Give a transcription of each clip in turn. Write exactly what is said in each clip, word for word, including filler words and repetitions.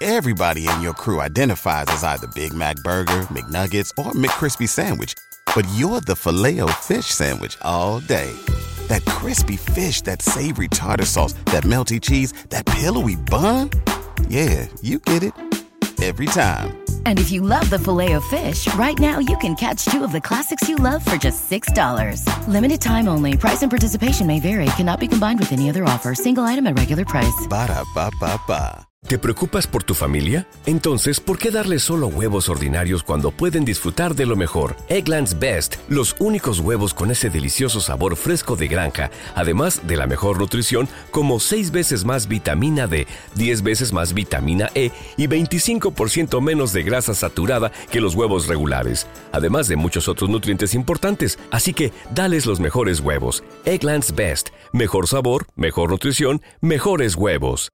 Everybody in your crew identifies as either Big Mac Burger, McNuggets, or McCrispy Sandwich. But you're the Filet-O-Fish Sandwich all day. That crispy fish, that savory tartar sauce, that melty cheese, that pillowy bun. Yeah, you get it. Every time. And if you love the Filet-O-Fish, right now you can catch two of the classics you love for just six dollars. Limited time only. Price and participation may vary. Cannot be combined with any other offer. Single item at regular price. Ba-da-ba-ba-ba. ¿Te preocupas por tu familia? Entonces, ¿por qué darles solo huevos ordinarios cuando pueden disfrutar de lo mejor? Eggland's Best, los únicos huevos con ese delicioso sabor fresco de granja, además de la mejor nutrición, como seis veces más vitamina D, diez veces más vitamina E y veinticinco por ciento menos de grasa saturada que los huevos regulares, además de muchos otros nutrientes importantes. Así que, dales los mejores huevos. Eggland's Best, mejor sabor, mejor nutrición, mejores huevos.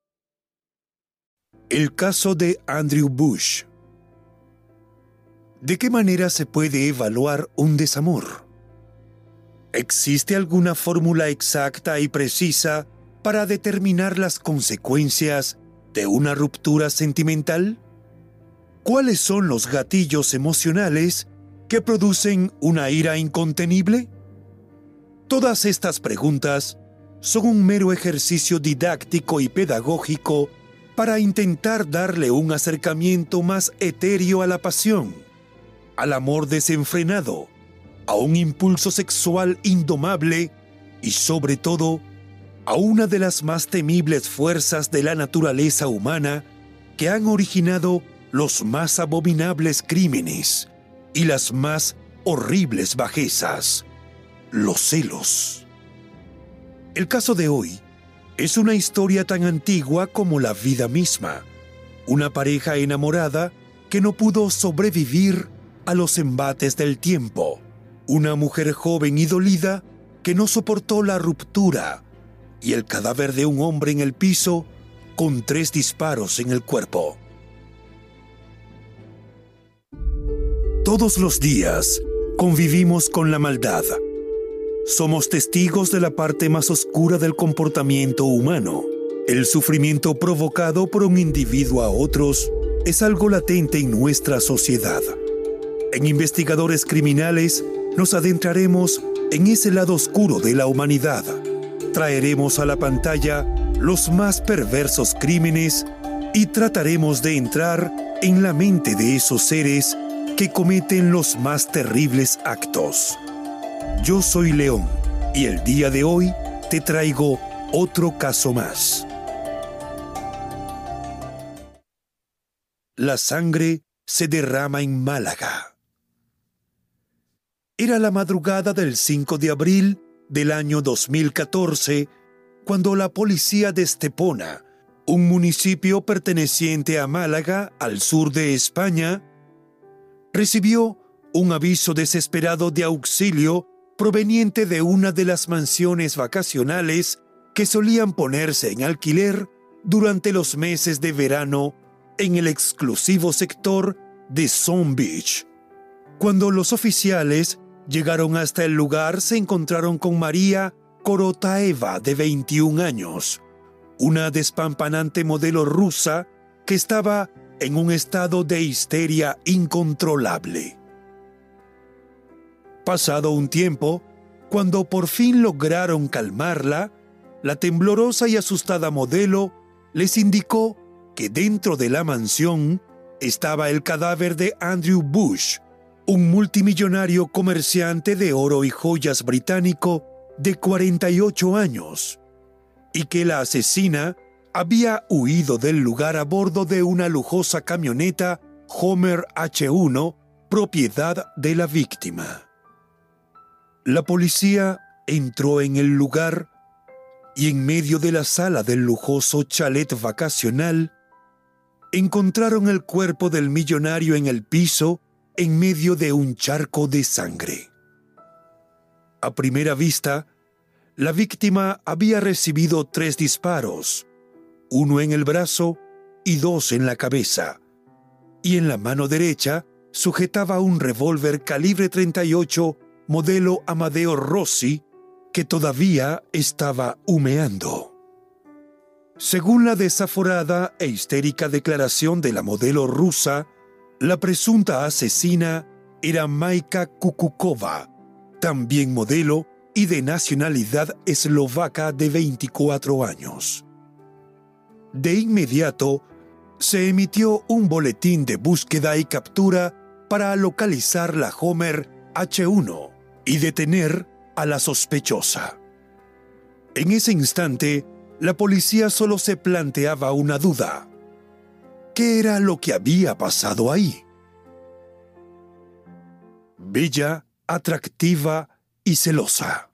El caso de Andrew Bush. ¿De qué manera se puede evaluar un desamor? ¿Existe alguna fórmula exacta y precisa para determinar las consecuencias de una ruptura sentimental? ¿Cuáles son los gatillos emocionales que producen una ira incontenible? Todas estas preguntas son un mero ejercicio didáctico y pedagógico para intentar darle un acercamiento más etéreo a la pasión, al amor desenfrenado, a un impulso sexual indomable y, sobre todo, a una de las más temibles fuerzas de la naturaleza humana que han originado los más abominables crímenes y las más horribles bajezas, los celos. El caso de hoy es una historia tan antigua como la vida misma. Una pareja enamorada que no pudo sobrevivir a los embates del tiempo. Una mujer joven y dolida que no soportó la ruptura. Y el cadáver de un hombre en el piso con tres disparos en el cuerpo. Todos los días convivimos con la maldad. Somos testigos de la parte más oscura del comportamiento humano. El sufrimiento provocado por un individuo a otros es algo latente en nuestra sociedad. En Investigadores Criminales nos adentraremos en ese lado oscuro de la humanidad. Traeremos a la pantalla los más perversos crímenes y trataremos de entrar en la mente de esos seres que cometen los más terribles actos. Yo soy León y el día de hoy te traigo otro caso más. La sangre se derrama en Málaga. Era la madrugada del cinco de abril del año dos mil catorce cuando la policía de Estepona, un municipio perteneciente a Málaga, al sur de España, recibió un aviso desesperado de auxilio proveniente de una de las mansiones vacacionales que solían ponerse en alquiler durante los meses de verano en el exclusivo sector de Zone Beach. Cuando los oficiales llegaron hasta el lugar, se encontraron con María Korotaeva, de veintiún años, una despampanante modelo rusa que estaba en un estado de histeria incontrolable. Pasado un tiempo, cuando por fin lograron calmarla, la temblorosa y asustada modelo les indicó que dentro de la mansión estaba el cadáver de Andrew Bush, un multimillonario comerciante de oro y joyas británico de cuarenta y ocho años, y que la asesina había huido del lugar a bordo de una lujosa camioneta Homer H uno, propiedad de la víctima. La policía entró en el lugar y en medio de la sala del lujoso chalet vacacional encontraron el cuerpo del millonario en el piso en medio de un charco de sangre. A primera vista, la víctima había recibido tres disparos, uno en el brazo y dos en la cabeza, y en la mano derecha sujetaba un revólver calibre treinta y ocho modelo Amadeo Rossi que todavía estaba humeando. Según la desaforada e histérica declaración de la modelo rusa, la presunta asesina era Majka Kukukova, también modelo y de nacionalidad eslovaca de veinticuatro años. De inmediato, se emitió un boletín de búsqueda y captura para localizar la Homer H uno y detener a la sospechosa. En ese instante, la policía solo se planteaba una duda. ¿Qué era lo que había pasado ahí? Bella, atractiva y celosa.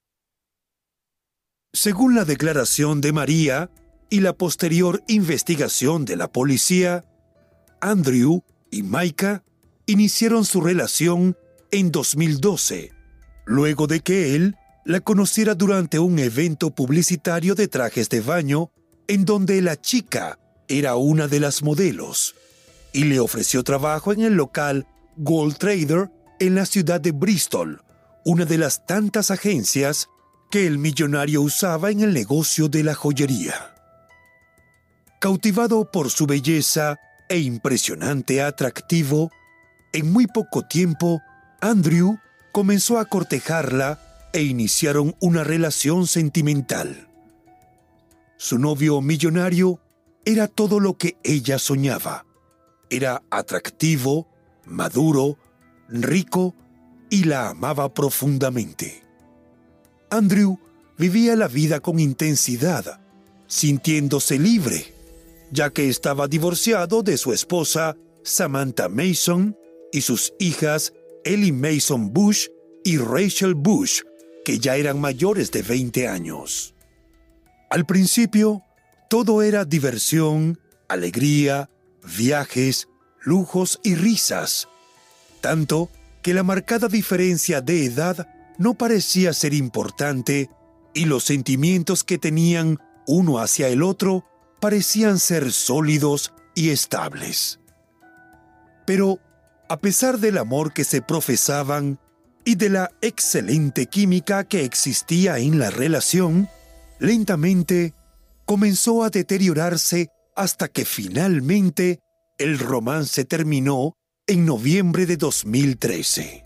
Según la declaración de María y la posterior investigación de la policía, Andrew y Majka iniciaron su relación en dos mil doce, luego de que él la conociera durante un evento publicitario de trajes de baño en donde la chica era una de las modelos y le ofreció trabajo en el local Gold Trader en la ciudad de Bristol, una de las tantas agencias que el millonario usaba en el negocio de la joyería. Cautivado por su belleza e impresionante atractivo, en muy poco tiempo, Andrew comenzó a cortejarla e iniciaron una relación sentimental. Su novio millonario era todo lo que ella soñaba. Era atractivo, maduro, rico y la amaba profundamente. Andrew vivía la vida con intensidad, sintiéndose libre, ya que estaba divorciado de su esposa Samantha Mason y sus hijas Ellie Mason Bush y Rachel Bush, que ya eran mayores de veinte años. Al principio, todo era diversión, alegría, viajes, lujos y risas, tanto que la marcada diferencia de edad no parecía ser importante y los sentimientos que tenían uno hacia el otro parecían ser sólidos y estables. Pero, a pesar del amor que se profesaban y de la excelente química que existía en la relación, lentamente comenzó a deteriorarse hasta que finalmente el romance terminó en noviembre de dos mil trece.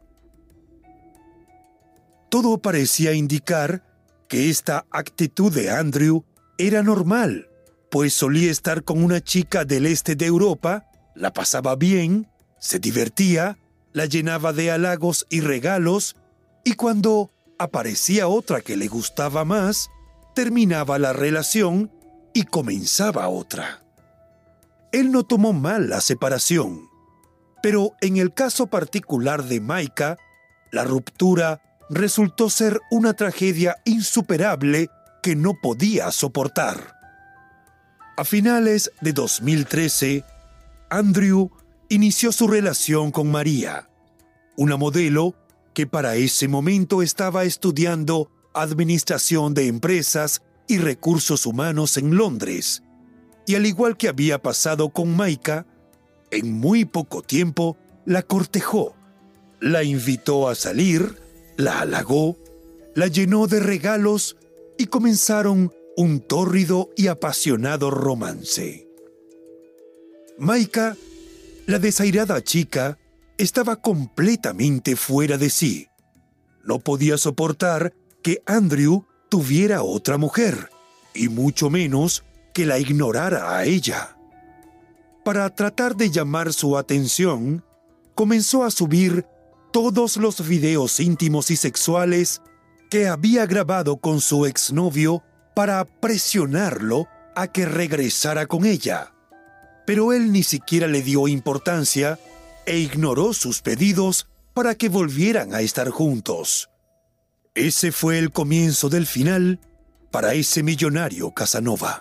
Todo parecía indicar que esta actitud de Andrew era normal, pues solía estar con una chica del este de Europa, la pasaba bien, se divertía, la llenaba de halagos y regalos, y cuando aparecía otra que le gustaba más, terminaba la relación y comenzaba otra. Él no tomó mal la separación, pero en el caso particular de Majka, la ruptura resultó ser una tragedia insuperable que no podía soportar. A finales de dos mil trece, Andrew inició su relación con María, una modelo que para ese momento estaba estudiando Administración de Empresas y Recursos Humanos en Londres, y al igual que había pasado con Majka, en muy poco tiempo la cortejó, la invitó a salir, la halagó, la llenó de regalos y comenzaron un tórrido y apasionado romance. Majka, la desairada chica, estaba completamente fuera de sí. No podía soportar que Andrew tuviera otra mujer, y mucho menos que la ignorara a ella. Para tratar de llamar su atención, comenzó a subir todos los videos íntimos y sexuales que había grabado con su exnovio para presionarlo a que regresara con ella. Pero él ni siquiera le dio importancia e ignoró sus pedidos para que volvieran a estar juntos. Ese fue el comienzo del final para ese millonario Casanova.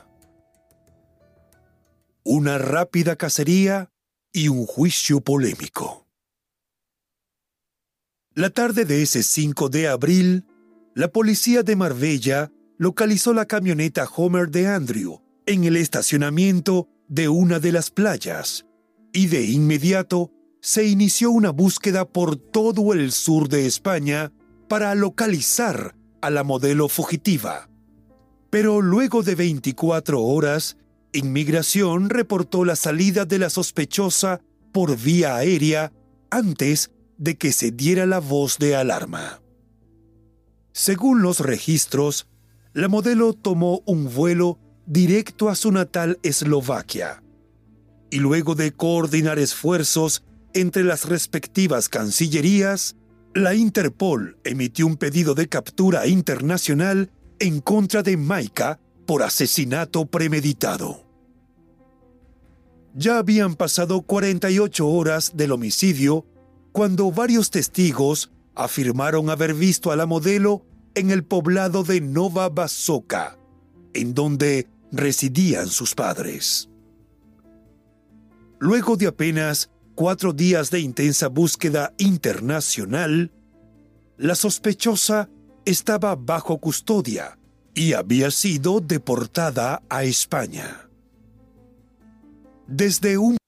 Una rápida cacería y un juicio polémico. La tarde de ese cinco de abril, la policía de Marbella localizó la camioneta Homer de Andrew en el estacionamiento de una de las playas, y de inmediato se inició una búsqueda por todo el sur de España para localizar a la modelo fugitiva. Pero luego de veinticuatro horas, Inmigración reportó la salida de la sospechosa por vía aérea antes de que se diera la voz de alarma. Según los registros, la modelo tomó un vuelo directo a su natal Eslovaquia y luego de coordinar esfuerzos entre las respectivas cancillerías, la Interpol emitió un pedido de captura internacional en contra de Maika por asesinato premeditado. Ya habían pasado cuarenta y ocho horas del homicidio cuando varios testigos afirmaron haber visto a la modelo en el poblado de Nova Basoka, en donde residían sus padres. Luego de apenas cuatro días de intensa búsqueda internacional, la sospechosa estaba bajo custodia y había sido deportada a España. Desde un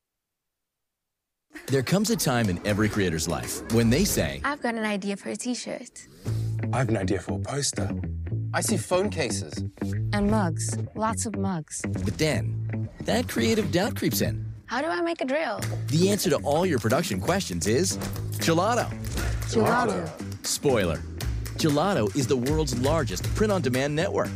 There comes a time in every creator's life when they say, I've got an idea for a t-shirt. I have an idea for a poster. I see phone cases. And mugs. Lots of mugs. but then that creative doubt creeps in. How do I make a drill? The answer to all your production questions is Gelato. Gelato. Spoiler. Gelato is the world's largest print-on-demand network.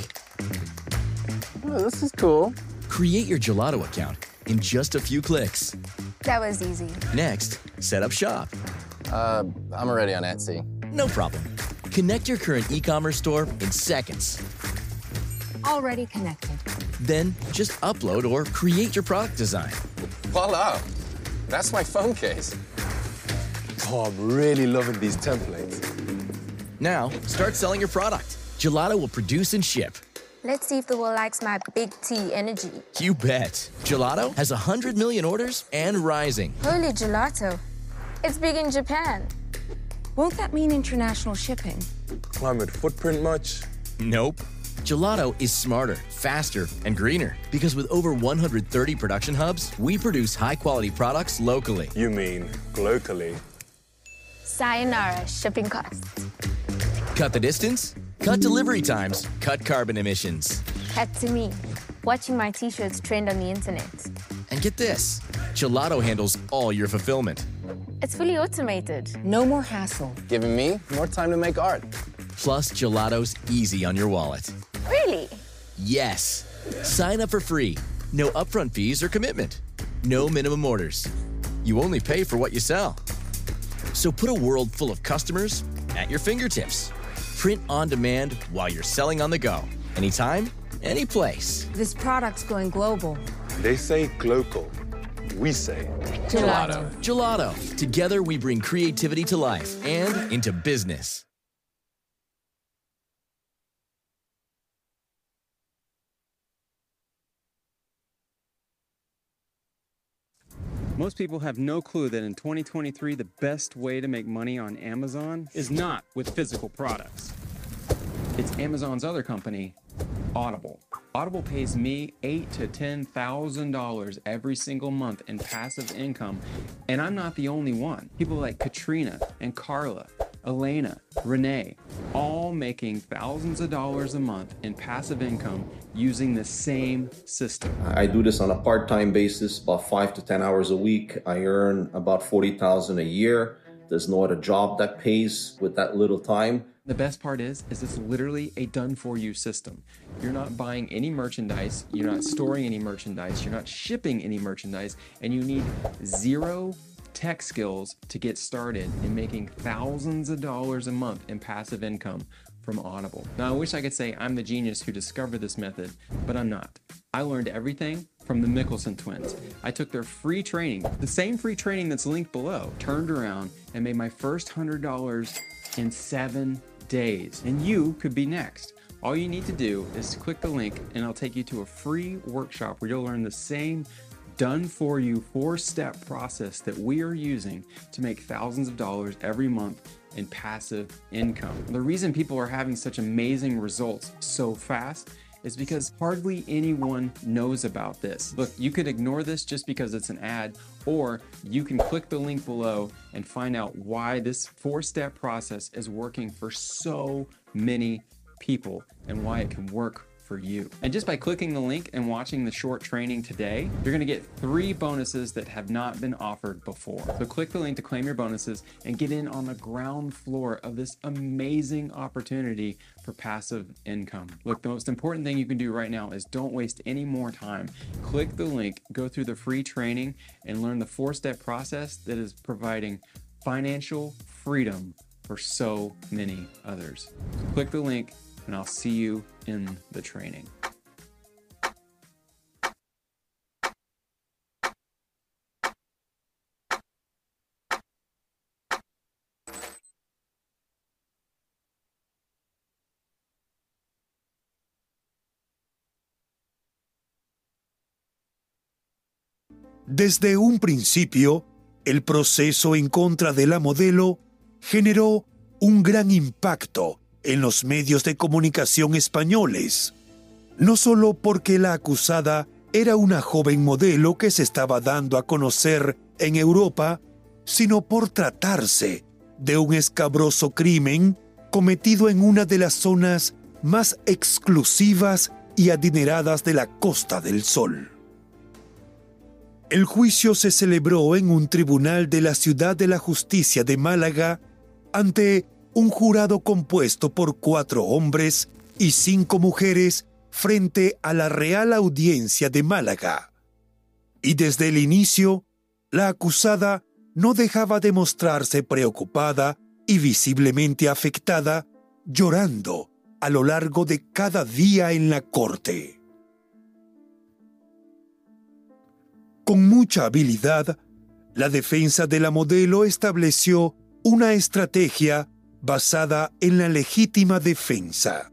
Oh, this is cool. Create your Gelato account in just a few clicks. That was easy. Next, set up shop. Uh, I'm already on Etsy. No problem. Connect your current e-commerce store in seconds. Already connected. Then just upload or create your product design. Voila! That's my phone case. Oh, I'm really loving these templates. Now, start selling your product. Gelato will produce and ship. Let's see if the world likes my big T energy. You bet. Gelato has one hundred million orders and rising. Holy gelato. It's big in Japan. Won't that mean international shipping? Climate footprint much? Nope. Gelato is smarter, faster, and greener because with over one hundred thirty production hubs, we produce high-quality products locally. You mean locally? Sayonara shipping costs. Cut the distance, cut delivery times, cut carbon emissions. Cut to me. Watching my t-shirts trend on the internet. And get this, Gelato handles all your fulfillment. It's fully automated. No more hassle. Giving me more time to make art. Plus, Gelato's easy on your wallet. Really? Yes. Sign up for free. No upfront fees or commitment. No minimum orders. You only pay for what you sell. So put a world full of customers at your fingertips. Print on demand while you're selling on the go. Anytime, any place. This product's going global. They say glocal. We say Gelato. Gelato. Together we bring creativity to life and into business. Most people have no clue that in twenty twenty-three, the best way to make money on Amazon is not with physical products. It's Amazon's other company, Audible. Audible pays me eight to ten thousand dollars every single month in passive income, and I'm not the only one. People like Katrina and Carla, Elena, Renee, all making thousands of dollars a month in passive income using the same system. I do this on a part-time basis, about five to ten hours a week. I earn about forty thousand dollars a year. There's no other job that pays with that little time. The best part is, is it's literally a done-for-you system. You're not buying any merchandise, you're not storing any merchandise, you're not shipping any merchandise, and you need zero tech skills to get started in making thousands of dollars a month in passive income from Audible. Now, I wish I could say I'm the genius who discovered this method, but I'm not. I learned everything from the Mickelson twins. I took their free training, the same free training that's linked below, turned around and made my first one hundred dollars in seven days. And you could be next. All you need to do is click the link and I'll take you to a free workshop where you'll learn the same done-for-you four-step process that we are using to make thousands of dollars every month in passive income. The reason people are having such amazing results so fast is because hardly anyone knows about this. Look, you could ignore this just because it's an ad, or you can click the link below and find out why this four-step process is working for so many people and why it can work for for you. And just by clicking the link and watching the short training today, you're going to get three bonuses that have not been offered before. So click the link to claim your bonuses and get in on the ground floor of this amazing opportunity for passive income. Look, the most important thing you can do right now is don't waste any more time. Click the link, go through the free training, and learn the four-step process that is providing financial freedom for so many others. Click the link and I'll see you in the training. Desde un principio, el proceso en contra de la modelo generó un gran impacto en los medios de comunicación españoles, no solo porque la acusada era una joven modelo que se estaba dando a conocer en Europa, sino por tratarse de un escabroso crimen cometido en una de las zonas más exclusivas y adineradas de la Costa del Sol. El juicio se celebró en un tribunal de la Ciudad de la Justicia de Málaga ante un jurado compuesto por cuatro hombres y cinco mujeres frente a la Real Audiencia de Málaga. Y desde el inicio, la acusada no dejaba de mostrarse preocupada y visiblemente afectada, llorando a lo largo de cada día en la corte. Con mucha habilidad, la defensa de la modelo estableció una estrategia basada en la legítima defensa.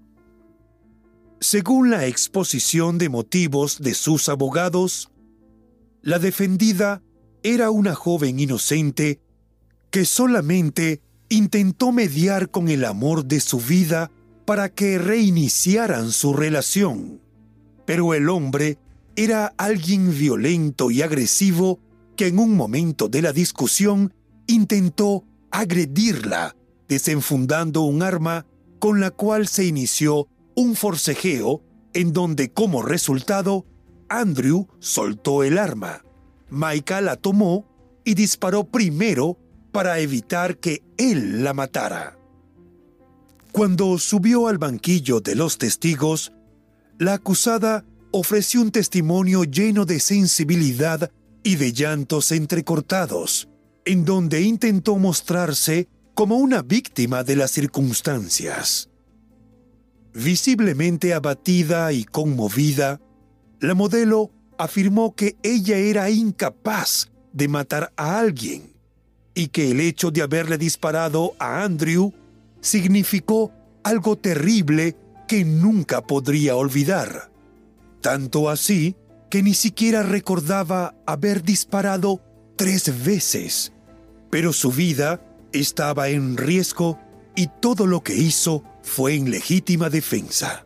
Según la exposición de motivos de sus abogados, la defendida era una joven inocente que solamente intentó mediar con el amor de su vida para que reiniciaran su relación, pero el hombre era alguien violento y agresivo que en un momento de la discusión intentó agredirla, desenfundando un arma con la cual se inició un forcejeo en donde, como resultado, Andrew soltó el arma. Maika la tomó y disparó primero para evitar que él la matara. Cuando subió al banquillo de los testigos, la acusada ofreció un testimonio lleno de sensibilidad y de llantos entrecortados, en donde intentó mostrarse como una víctima de las circunstancias. Visiblemente abatida y conmovida, la modelo afirmó que ella era incapaz de matar a alguien y que el hecho de haberle disparado a Andrew significó algo terrible que nunca podría olvidar. Tanto así que ni siquiera recordaba haber disparado tres veces, pero su vida estaba en riesgo y todo lo que hizo fue en legítima defensa.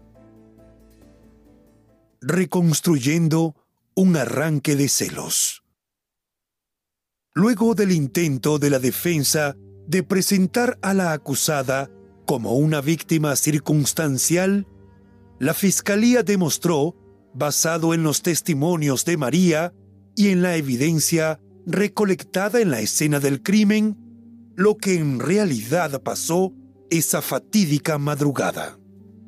Reconstruyendo un arranque de celos. Luego del intento de la defensa de presentar a la acusada como una víctima circunstancial, la Fiscalía demostró, basado en los testimonios de María y en la evidencia recolectada en la escena del crimen, lo que en realidad pasó esa fatídica madrugada.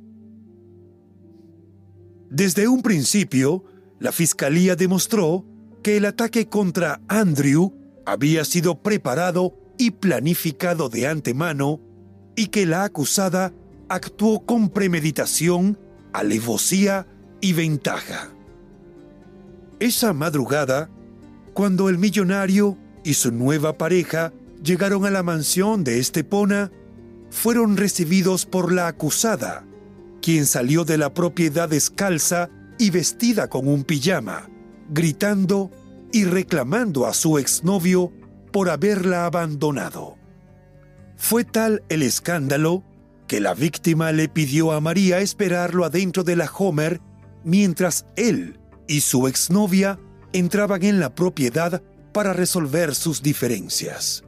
Desde un principio, la Fiscalía demostró que el ataque contra Andrew había sido preparado y planificado de antemano y que la acusada actuó con premeditación, alevosía y ventaja. Esa madrugada, cuando el millonario y su nueva pareja llegaron a la mansión de Estepona, fueron recibidos por la acusada, quien salió de la propiedad descalza y vestida con un pijama, gritando y reclamando a su exnovio por haberla abandonado. Fue tal el escándalo que la víctima le pidió a María esperarlo adentro de la Homer mientras él y su exnovia entraban en la propiedad para resolver sus diferencias.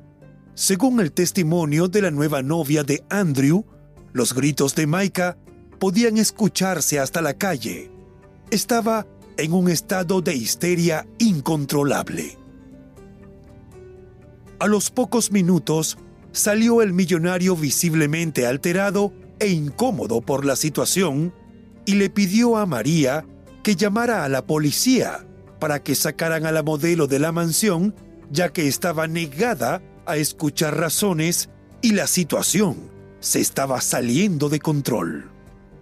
Según el testimonio de la nueva novia de Andrew, los gritos de Maika podían escucharse hasta la calle. Estaba en un estado de histeria incontrolable. A los pocos minutos salió el millonario visiblemente alterado e incómodo por la situación y le pidió a María que llamara a la policía para que sacaran a la modelo de la mansión, ya que estaba negada a escuchar razones y la situación se estaba saliendo de control.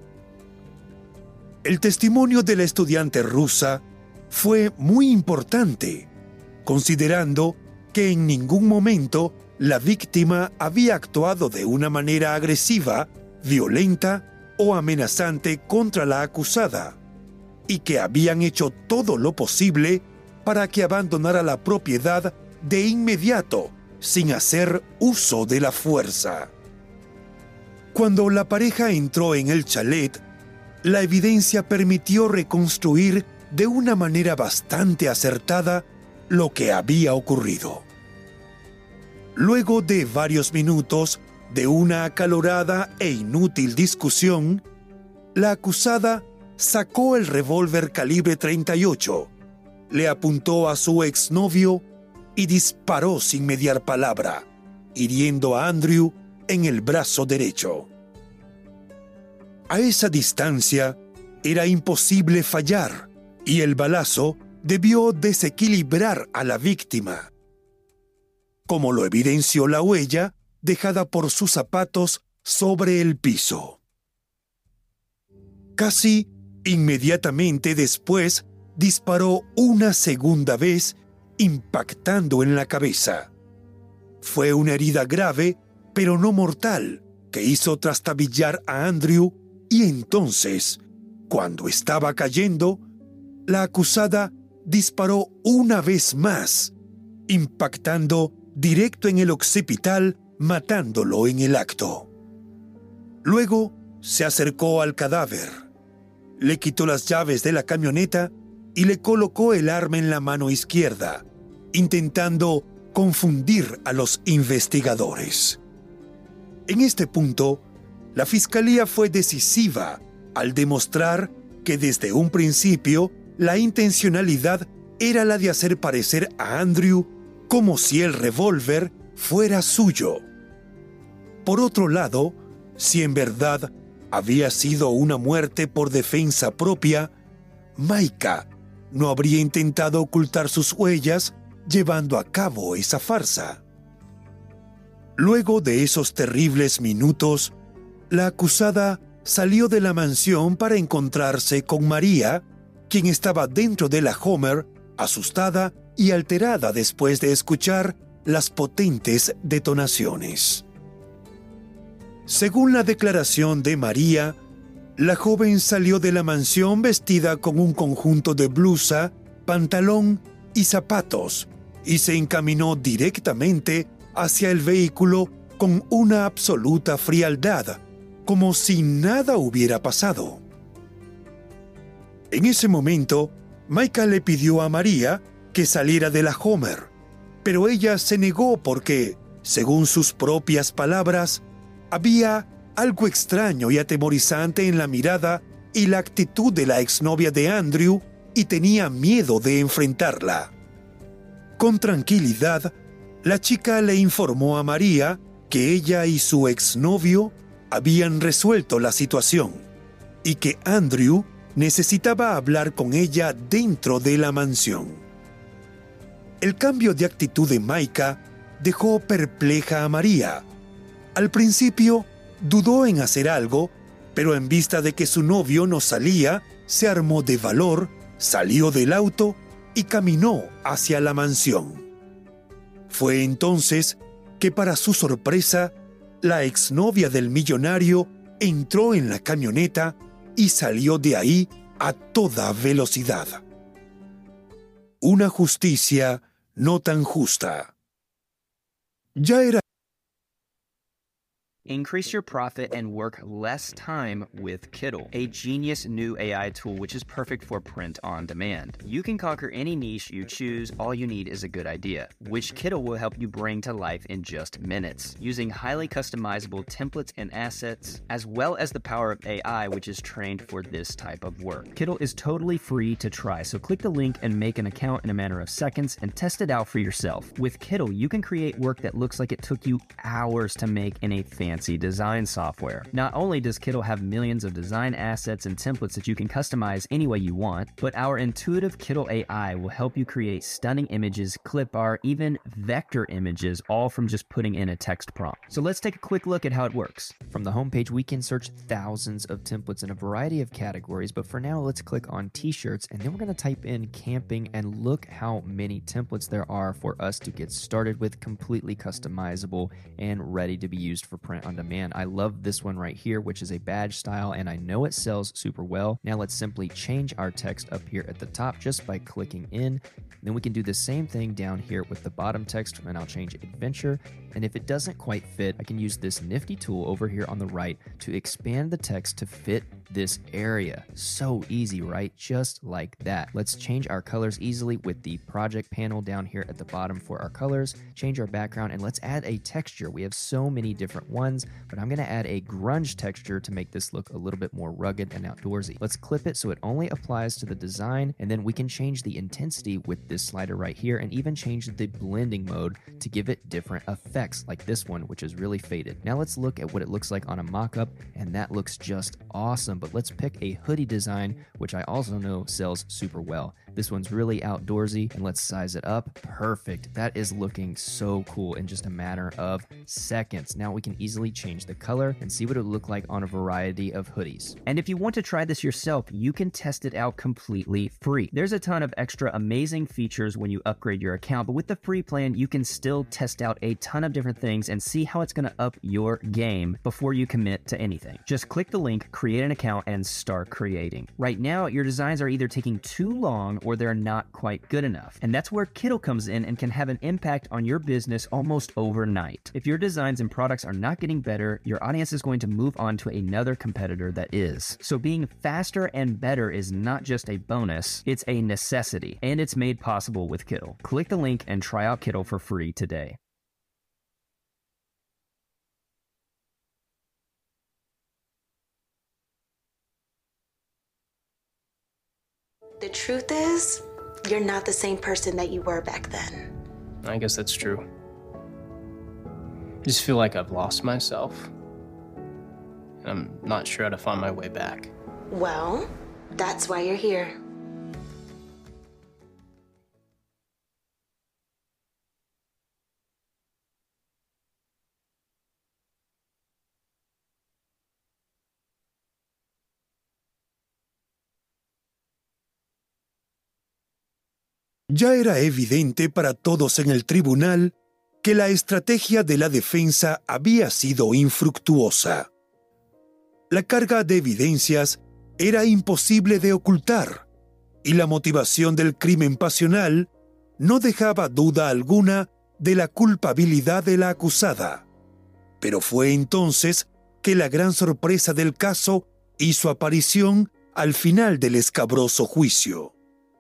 El testimonio de la estudiante rusa fue muy importante, considerando que en ningún momento la víctima había actuado de una manera agresiva, violenta o amenazante contra la acusada, y que habían hecho todo lo posible para que abandonara la propiedad de inmediato, sin hacer uso de la fuerza. Cuando la pareja entró en el chalet, la evidencia permitió reconstruir de una manera bastante acertada lo que había ocurrido. Luego de varios minutos de una acalorada e inútil discusión, la acusada sacó el revólver calibre treinta y ocho, le apuntó a su exnovio y disparó sin mediar palabra, hiriendo a Andrew en el brazo derecho. A esa distancia era imposible fallar y el balazo debió desequilibrar a la víctima, como lo evidenció la huella dejada por sus zapatos sobre el piso. Casi inmediatamente después disparó una segunda vez, impactando en la cabeza. Fue una herida grave, pero no mortal, que hizo trastabillar a Andrew y entonces, cuando estaba cayendo, la acusada disparó una vez más, impactando directo en el occipital, matándolo en el acto. Luego se acercó al cadáver, le quitó las llaves de la camioneta y le colocó el arma en la mano izquierda, intentando confundir a los investigadores. En este punto, la fiscalía fue decisiva al demostrar que desde un principio la intencionalidad era la de hacer parecer a Andrew como si el revólver fuera suyo. Por otro lado, si en verdad había sido una muerte por defensa propia, Maika no habría intentado ocultar sus huellas llevando a cabo esa farsa. Luego de esos terribles minutos, la acusada salió de la mansión para encontrarse con María, quien estaba dentro de la Hummer, asustada y alterada después de escuchar las potentes detonaciones. Según la declaración de María, la joven salió de la mansión vestida con un conjunto de blusa, pantalón y zapatos y se encaminó directamente hacia el vehículo con una absoluta frialdad, como si nada hubiera pasado. En ese momento, Maika le pidió a María que saliera de la Hummer, pero ella se negó porque, según sus propias palabras, había algo extraño y atemorizante en la mirada y la actitud de la exnovia de Andrew y tenía miedo de enfrentarla. Con tranquilidad, la chica le informó a María que ella y su exnovio habían resuelto la situación y que Andrew necesitaba hablar con ella dentro de la mansión. El cambio de actitud de Maika dejó perpleja a María. Al principio dudó en hacer algo, pero en vista de que su novio no salía, se armó de valor, salió del auto y caminó hacia la mansión. Fue entonces que, para su sorpresa, la exnovia del millonario entró en la camioneta y salió de ahí a toda velocidad. Una justicia no tan justa. Ya era increase your profit, and work less time with Kittl, a genius new A I tool which is perfect for print on demand. You can conquer any niche you choose. All you need is a good idea, which Kittl will help you bring to life in just minutes, using highly customizable templates and assets, as well as the power of A I, which is trained for this type of work. Kittl is totally free to try, so click the link and make an account in a matter of seconds and test it out for yourself. With Kittl, you can create work that looks like it took you hours to make in a fancy design software. Not only does Kittl have millions of design assets and templates that you can customize any way you want, but our intuitive Kittl A I will help you create stunning images, clip art, even vector images, all from just putting in a text prompt. So let's take a quick look at how it works. From the homepage, we can search thousands of templates in a variety of categories, but for now, let's click on t-shirts, and then we're going to type in camping, and look how many templates there are for us to get started with, completely customizable and ready to be used for print on demand. I love this one right here, which is a badge style, and I know it sells super well. Now let's simply change our text up here at the top just by clicking in. Then we can do the same thing down here with the bottom text, and I'll change adventure. And if it doesn't quite fit, I can use this nifty tool over here on the right to expand the text to fit this area. So easy, right? Just like that. Let's change our colors easily with the project panel down here at the bottom for our colors, change our background, and let's add a texture. We have so many different ones, but I'm going to add a grunge texture to make this look a little bit more rugged and outdoorsy. Let's clip it so it only applies to the design, and then we can change the intensity with this slider right here, and even change the blending mode to give it different effects, like this one, which is really faded. Now let's look at what it looks like on a mock-up, and that looks just awesome. But let's pick a hoodie design, which I also know sells super well. This one's really outdoorsy, and let's size it up. Perfect. That is looking so cool in just a matter of seconds. Now we can easily change the color and see what it would look like on a variety of hoodies. And if you want to try this yourself, you can test it out completely free. There's a ton of extra amazing features when you upgrade your account, but with the free plan, you can still test out a ton of different things and see how it's going to up your game before you commit to anything. Just click the link, create an account, and start creating. Right now, your designs are either taking too long or they're not quite good enough. And that's where Kittl comes in and can have an impact on your business almost overnight. If your designs and products are not getting better, your audience is going to move on to another competitor that is. So being faster and better is not just a bonus, it's a necessity. And it's made possible with Kittl. Click the link and try out Kittl for free today. The truth is, you're not the same person that you were back then. I guess that's true. I just feel like I've lost myself. And I'm not sure how to find my way back. Well, that's why you're here. Ya era evidente para todos en el tribunal que la estrategia de la defensa había sido infructuosa. La carga de evidencias era imposible de ocultar, y la motivación del crimen pasional no dejaba duda alguna de la culpabilidad de la acusada. Pero fue entonces que la gran sorpresa del caso hizo aparición al final del escabroso juicio.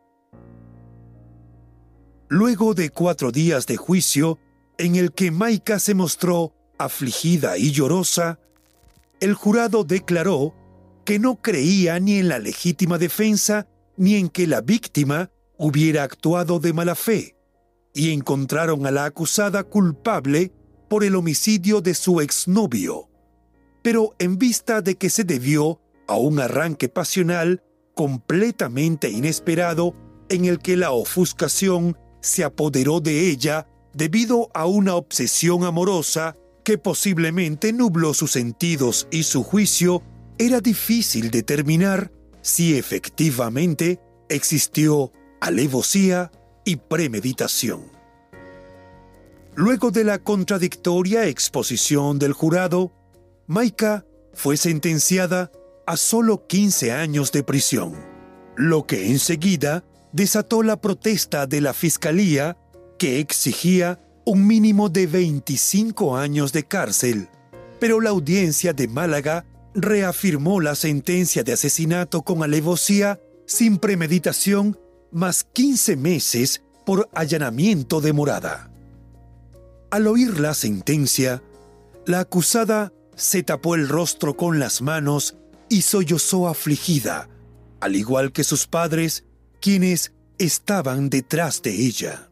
Luego de cuatro días de juicio, en el que Maika se mostró afligida y llorosa, el jurado declaró que no creía ni en la legítima defensa ni en que la víctima hubiera actuado de mala fe, y encontraron a la acusada culpable por el homicidio de su exnovio. Pero en vista de que se debió a un arranque pasional completamente inesperado en el que la ofuscación se apoderó de ella debido a una obsesión amorosa que posiblemente nubló sus sentidos y su juicio, era difícil determinar si efectivamente existió alevosía y premeditación. Luego de la contradictoria exposición del jurado, Maika fue sentenciada a solo quince años de prisión, lo que enseguida desató la protesta de la fiscalía, que exigía un mínimo de veinticinco años de cárcel, pero la audiencia de Málaga reafirmó la sentencia de asesinato con alevosía sin premeditación más quince meses por allanamiento de morada. Al oír la sentencia, la acusada se tapó el rostro con las manos y sollozó afligida, al igual que sus padres, quienes estaban detrás de ella.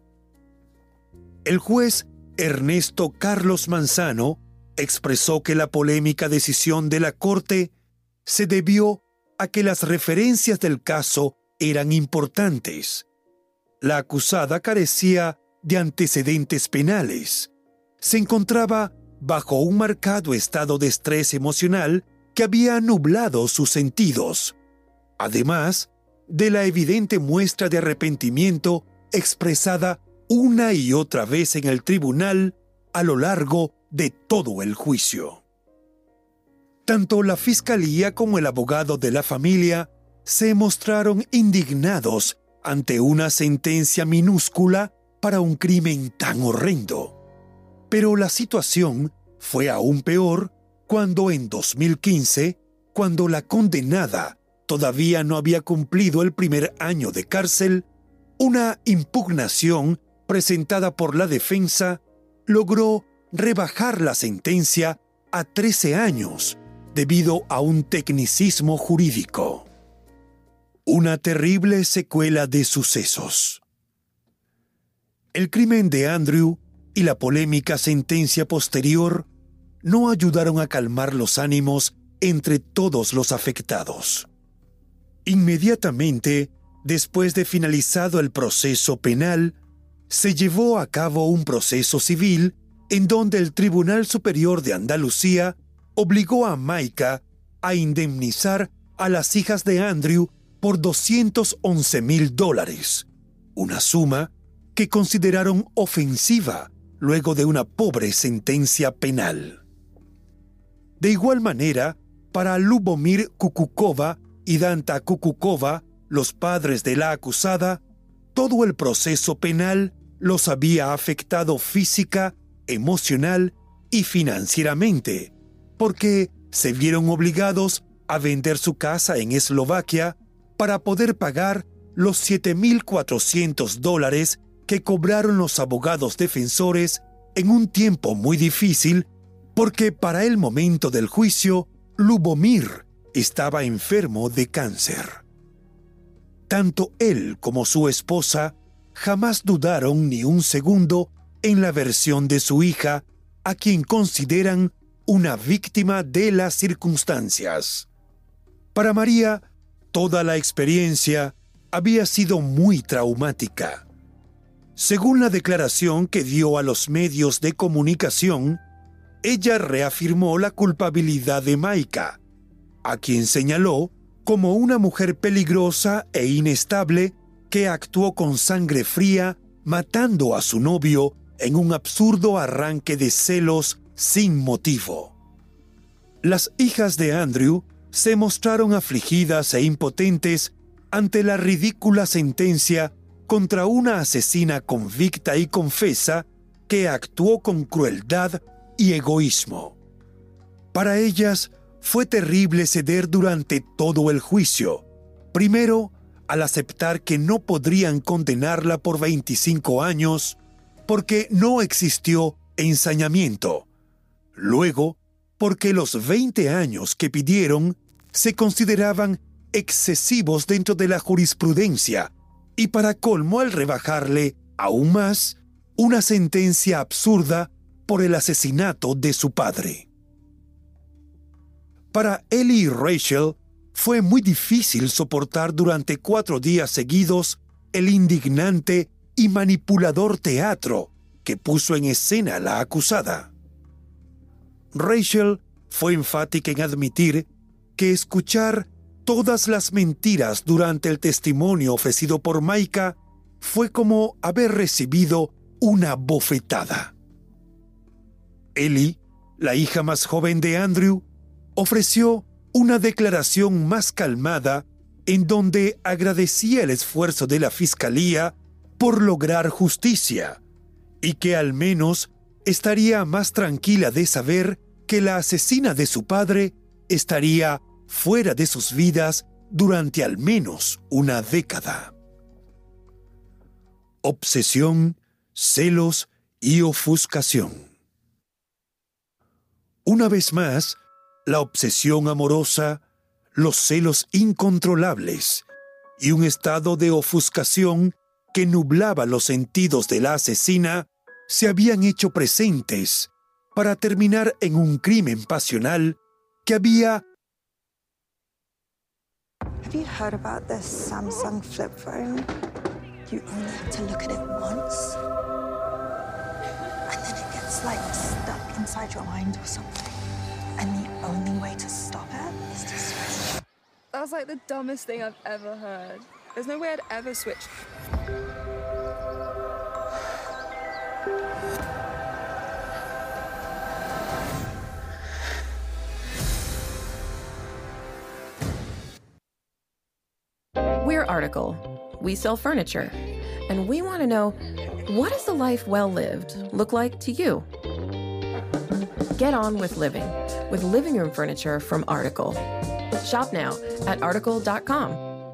El juez Ernesto Carlos Manzano expresó que la polémica decisión de la Corte se debió a que las referencias del caso eran importantes. La acusada carecía de antecedentes penales. Se encontraba bajo un marcado estado de estrés emocional que había nublado sus sentidos, además de la evidente muestra de arrepentimiento expresada una y otra vez en el tribunal a lo largo de todo el juicio. Tanto la fiscalía como el abogado de la familia se mostraron indignados ante una sentencia minúscula para un crimen tan horrendo. Pero la situación fue aún peor cuando en dos mil quince, cuando la condenada todavía no había cumplido el primer año de cárcel, una impugnación presentada por la defensa logró rebajar la sentencia a trece años debido a un tecnicismo jurídico. Una terrible secuela de sucesos. El crimen de Andrew y la polémica sentencia posterior no ayudaron a calmar los ánimos entre todos los afectados. Inmediatamente, después de finalizado el proceso penal, se llevó a cabo un proceso civil en donde el Tribunal Superior de Andalucía obligó a Maika a indemnizar a las hijas de Andrew por doscientos once mil dólares, una suma que consideraron ofensiva luego de una pobre sentencia penal. De igual manera, para Lubomir Kukukova y Danta Kukukova, los padres de la acusada, todo el proceso penal los había afectado física, emocional y financieramente, porque se vieron obligados a vender su casa en Eslovaquia para poder pagar los siete mil cuatrocientos dólares que cobraron los abogados defensores en un tiempo muy difícil, porque para el momento del juicio, Lubomir estaba enfermo de cáncer. Tanto él como su esposa jamás dudaron ni un segundo en la versión de su hija, a quien consideran una víctima de las circunstancias. Para María, toda la experiencia había sido muy traumática. Según la declaración que dio a los medios de comunicación, ella reafirmó la culpabilidad de Maika, a quien señaló como una mujer peligrosa e inestable que actuó con sangre fría, matando a su novio en un absurdo arranque de celos sin motivo. Las hijas de Andrew se mostraron afligidas e impotentes ante la ridícula sentencia contra una asesina convicta y confesa que actuó con crueldad y egoísmo. Para ellas fue terrible ceder durante todo el juicio, primero al aceptar que no podrían condenarla por veinticinco años porque no existió ensañamiento, luego porque los veinte años que pidieron se consideraban excesivos dentro de la jurisprudencia, y para colmo al rebajarle aún más una sentencia absurda por el asesinato de su padre. Para Ellie y Rachel fue muy difícil soportar durante cuatro días seguidos el indignante y manipulador teatro que puso en escena la acusada. Rachel fue enfática en admitir que escuchar todas las mentiras durante el testimonio ofrecido por Maika fue como haber recibido una bofetada. Ellie, la hija más joven de Andrew, ofreció una declaración más calmada en donde agradecía el esfuerzo de la fiscalía por lograr justicia y que al menos estaría más tranquila de saber que la asesina de su padre estaría fuera de sus vidas durante al menos una década. Obsesión, celos y ofuscación. Una vez más, la obsesión amorosa, los celos incontrolables y un estado de ofuscación que nublaba los sentidos de la asesina se habían hecho presentes para terminar en un crimen pasional que había... Have you heard about this Samsung flip phone? You only have to look at it once, and then it gets like stuck inside your mind or something. And the only way to stop it is to switch. That's like the dumbest thing I've ever heard. There's no way I'd ever switch. We're Article. We sell furniture. And we want to know, what does a life well lived look like to you? Get on with living with living room furniture from Article. Shop now at article dot com.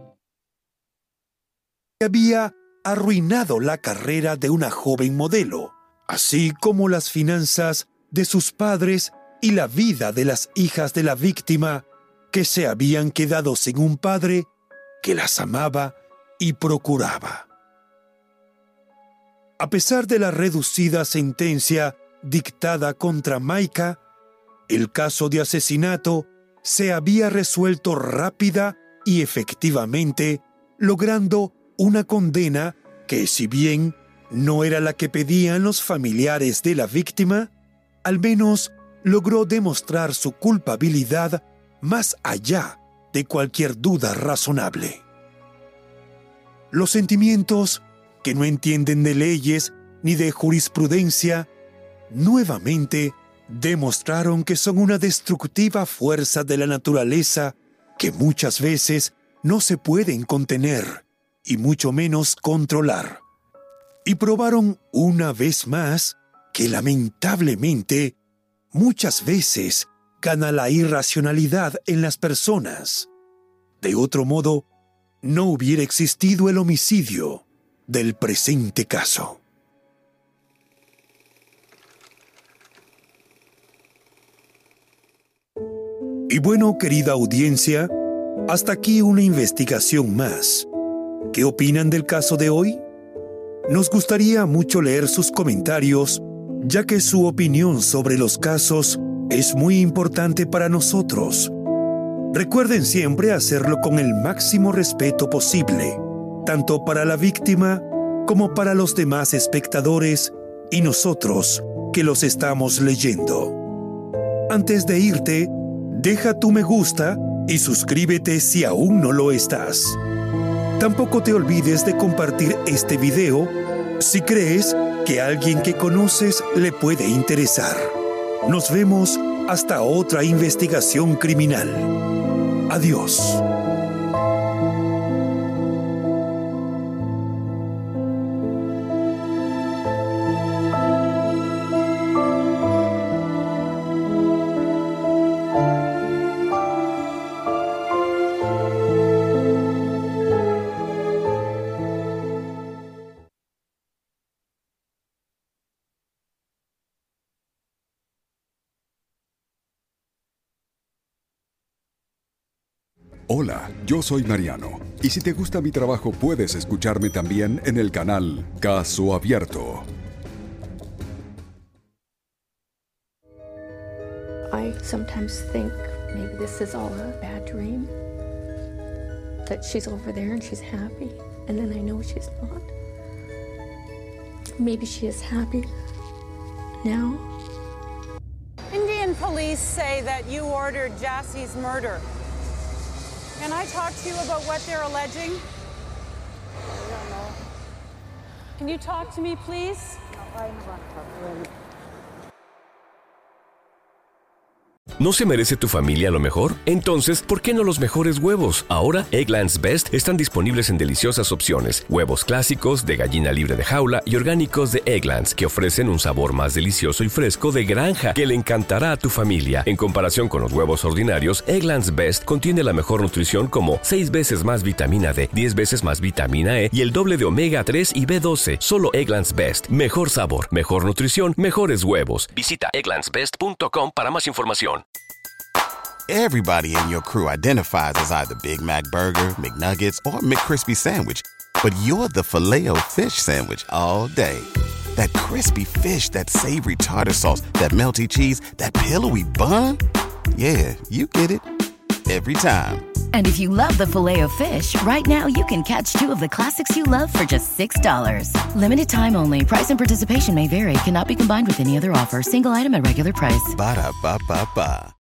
Había arruinado la carrera de una joven modelo, así como las finanzas de sus padres y la vida de las hijas de la víctima, que se habían quedado sin un padre que las amaba y procuraba. A pesar de la reducida sentencia dictada contra Maika, el caso de asesinato se había resuelto rápida y efectivamente, logrando una condena que, si bien no era la que pedían los familiares de la víctima, al menos logró demostrar su culpabilidad más allá de cualquier duda razonable. Los sentimientos, que no entienden de leyes ni de jurisprudencia, nuevamente demostraron que son una destructiva fuerza de la naturaleza que muchas veces no se pueden contener y mucho menos controlar. Y probaron una vez más que lamentablemente muchas veces gana la irracionalidad en las personas. De otro modo, no hubiera existido el homicidio del presente caso. Y bueno, querida audiencia, hasta aquí una investigación más. ¿Qué opinan del caso de hoy? Nos gustaría mucho leer sus comentarios, ya que su opinión sobre los casos es muy importante para nosotros. Recuerden siempre hacerlo con el máximo respeto posible, tanto para la víctima como para los demás espectadores y nosotros que los estamos leyendo. Antes de irte, deja tu me gusta y suscríbete si aún no lo estás. Tampoco te olvides de compartir este video si crees que a alguien que conoces le puede interesar. Nos vemos hasta otra investigación criminal. Adiós. Hola, yo soy Mariano, y si te gusta mi trabajo puedes escucharme también en el canal Caso Abierto. I sometimes think maybe this is all a bad dream, that she's over there and she's happy, and then I know she's not. Maybe she is happy now. Indian police say that you ordered Jassie's murder. Can I talk to you about what they're alleging? I don't know. Can you talk to me, please? No, I don't want to talk to him. ¿No se merece tu familia lo mejor? Entonces, ¿por qué no los mejores huevos? Ahora, Eggland's Best están disponibles en deliciosas opciones. Huevos clásicos, de gallina libre de jaula y orgánicos de Eggland's, que ofrecen un sabor más delicioso y fresco de granja que le encantará a tu familia. En comparación con los huevos ordinarios, Eggland's Best contiene la mejor nutrición como seis veces más vitamina D, diez veces más vitamina E y el doble de omega tres y B doce. Solo Eggland's Best. Mejor sabor, mejor nutrición, mejores huevos. Visita egglands best punto com para más información. Everybody in your crew identifies as either Big Mac Burger, McNuggets, or McCrispy Sandwich. But you're the Filet-O-Fish Sandwich all day. That crispy fish, that savory tartar sauce, that melty cheese, that pillowy bun. Yeah, you get it. Every time. And if you love the Filet-O-Fish, right now you can catch two of the classics you love for just six dollars. Limited time only. Price and participation may vary. Cannot be combined with any other offer. Single item at regular price. Ba-da-ba-ba-ba.